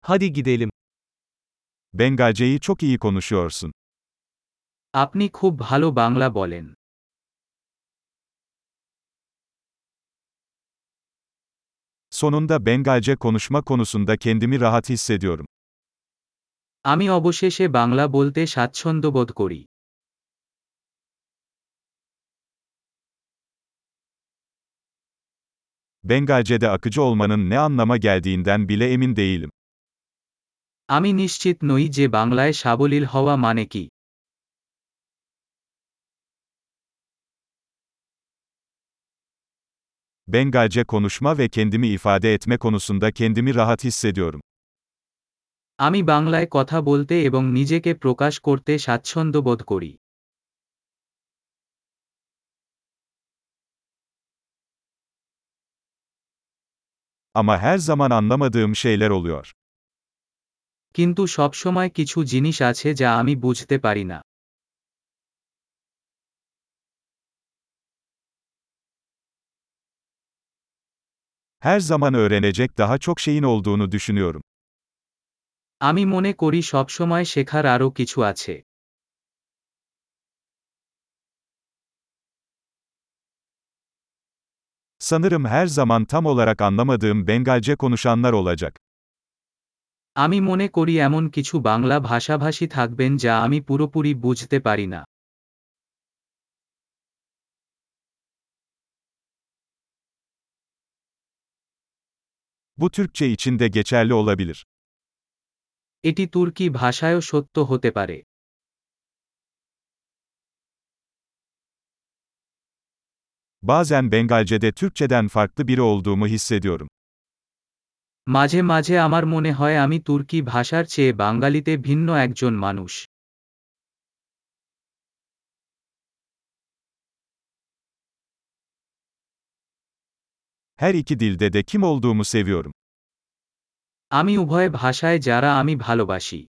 Hadi gidelim. Bengalceyi çok iyi konuşuyorsun. আপনি খুব ভালো বাংলা বলেন। Sonunda Bengalce konuşma konusunda kendimi rahat hissediyorum. আমি অবশেষে বাংলা বলতে স্বাচ্ছন্দ্য বোধ করি। Bengalce'de akıcı olmanın ne anlama geldiğinden bile emin değilim. আমি নিশ্চিত নই যে বাংলায় সাবলীল হওয়া মানে কি। Bengalce konuşma ve kendimi ifade etme konusunda kendimi rahat hissediyorum. আমি বাংলায় কথা বলতে এবং নিজেকে প্রকাশ করতে স্বাচ্ছন্দ্য বোধ করি। Ama her zaman anlamadığım şeyler oluyor. কিন্তু সবসময় কিছু জিনিস আছে যা আমি বুঝতে পারি না। Her zaman öğrenecek daha çok şeyin olduğunu düşünüyorum. আমি মনে করি সবসময় শেখার আরও কিছু আছে। Sanırım her zaman tam olarak anlamadığım Bengalce konuşanlar olacak. আমি মনে করি এমন কিছু বাংলা ভাষাভাষী থাকবেন যা আমি পুরোপুরি বুঝতে পারি না। Bu Türkçe için de geçerli olabilir. এটি তুর্কি ভাষায়ও সত্য হতে পারে। Bazen Bengalce'de Türkçeden farklı biri olduğumu hissediyorum. মাঝে মাঝে আমার মনে হয় আমি তুর্কি ভাষার চেয়ে বাঙালিতে ভিন্ন একজন মানুষ। Her iki dilde de kim olduğumu seviyorum. আমি উভয় ভাষায় যারা আমি ভালোবাসি।